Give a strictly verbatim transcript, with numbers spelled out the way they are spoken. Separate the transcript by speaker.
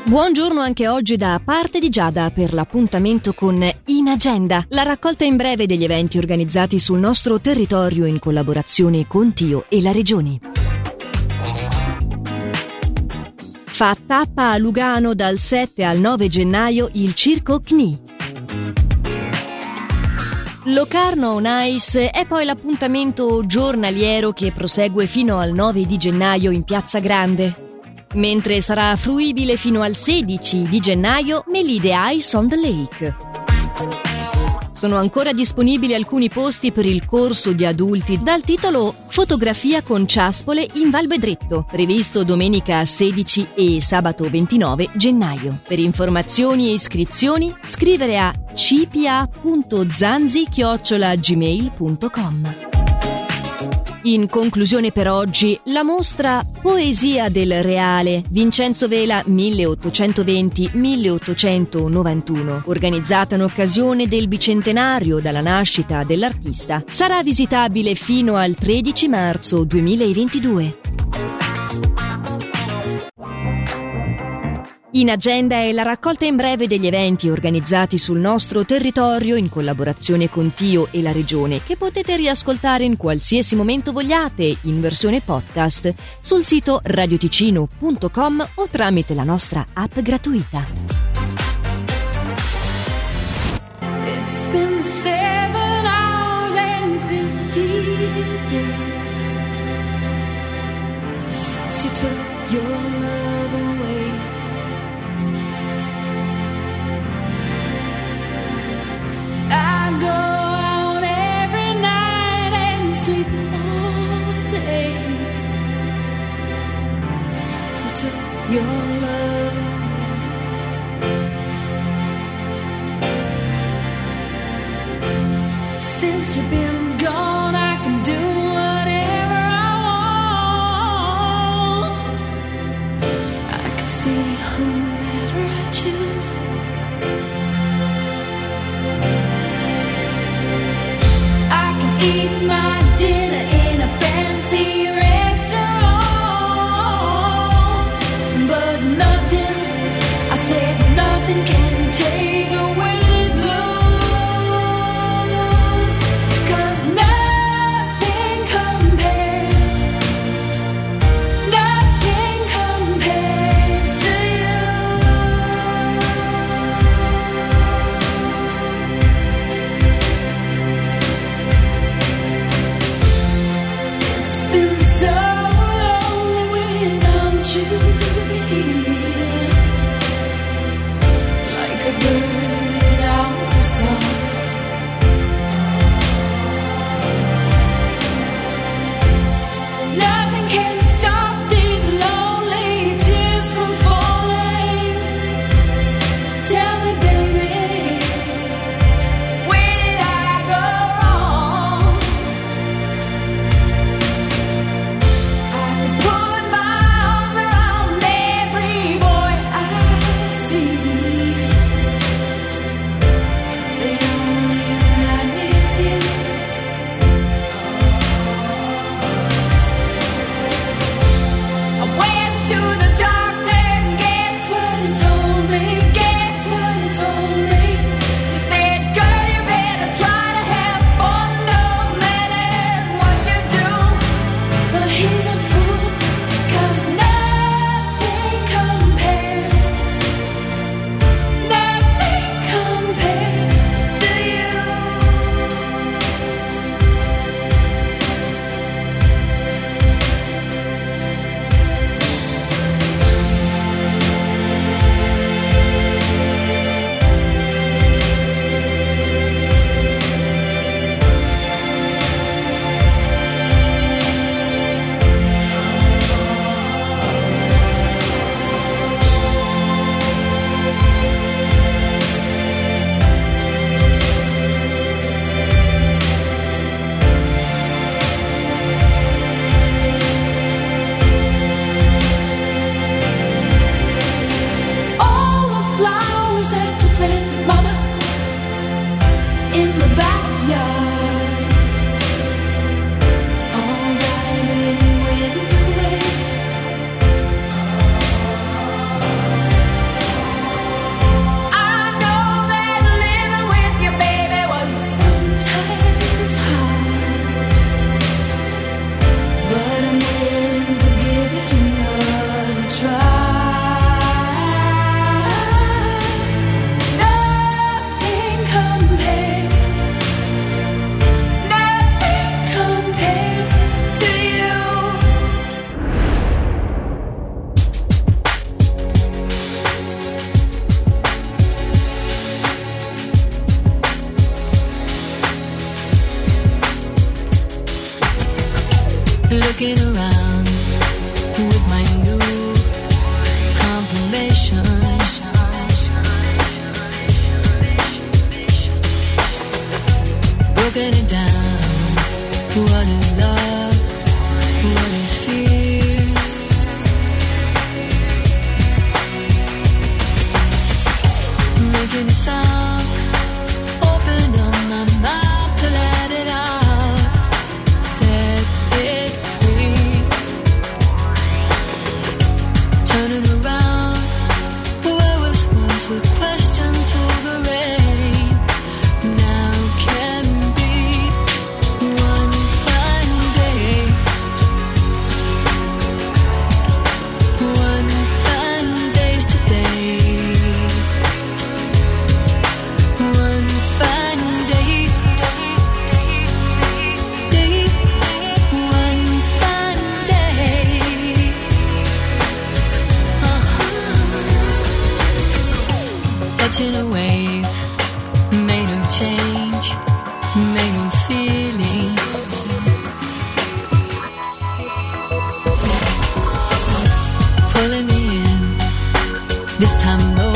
Speaker 1: Buongiorno anche oggi da parte di Giada per l'appuntamento con In Agenda, la raccolta in breve degli eventi organizzati sul nostro territorio in collaborazione con Tio e la Regione. Fa tappa a Lugano dal sette al nove gennaio il Circo C N I. Locarno on Ice è poi l'appuntamento giornaliero che prosegue fino al nove di gennaio in Piazza Grande. Mentre sarà fruibile fino al sedici di gennaio Melide Ice on the Lake. Sono ancora disponibili alcuni posti per il corso di adulti dal titolo Fotografia con ciaspole in Val Bedretto, previsto domenica sedici e sabato ventinove gennaio. Per informazioni e iscrizioni scrivere a c p a punto zanzi chiocciola gmail punto com. In conclusione per oggi, la mostra Poesia del Reale, Vincenzo Vela milleottocentoventi milleottocentonovantuno, organizzata in occasione del bicentenario dalla nascita dell'artista, sarà visitabile fino al tredici marzo duemilaventidue. In Agenda è la raccolta in breve degli eventi organizzati sul nostro territorio in collaborazione con Tio e la Regione, che potete riascoltare in qualsiasi momento vogliate in versione podcast sul sito radioticino punto com o tramite la nostra app gratuita.
Speaker 2: It's been seven hours and fifteen days since you took your love away. I go out every night and sleep all day since you took your love away. Since you've been gone, I can do whatever I want. I can see whomever I choose. Eat my dinner in a fancy restaurant, but nothing, I said nothing can take away these blues, 'cause nothing compares, nothing compares to you. Been so lonely without you here, like my new confirmation. Broken it down, what is love, what is fear? Making a sound, open up my mouth to let it out, set it free. Turning around, where was once a question to the rain, now can be one fine day. One fine day's today. One fine day, day, day, day, day. One fine day. Uh-huh. Catching a wave, made of change, made of feeling. Pulling me in, this time no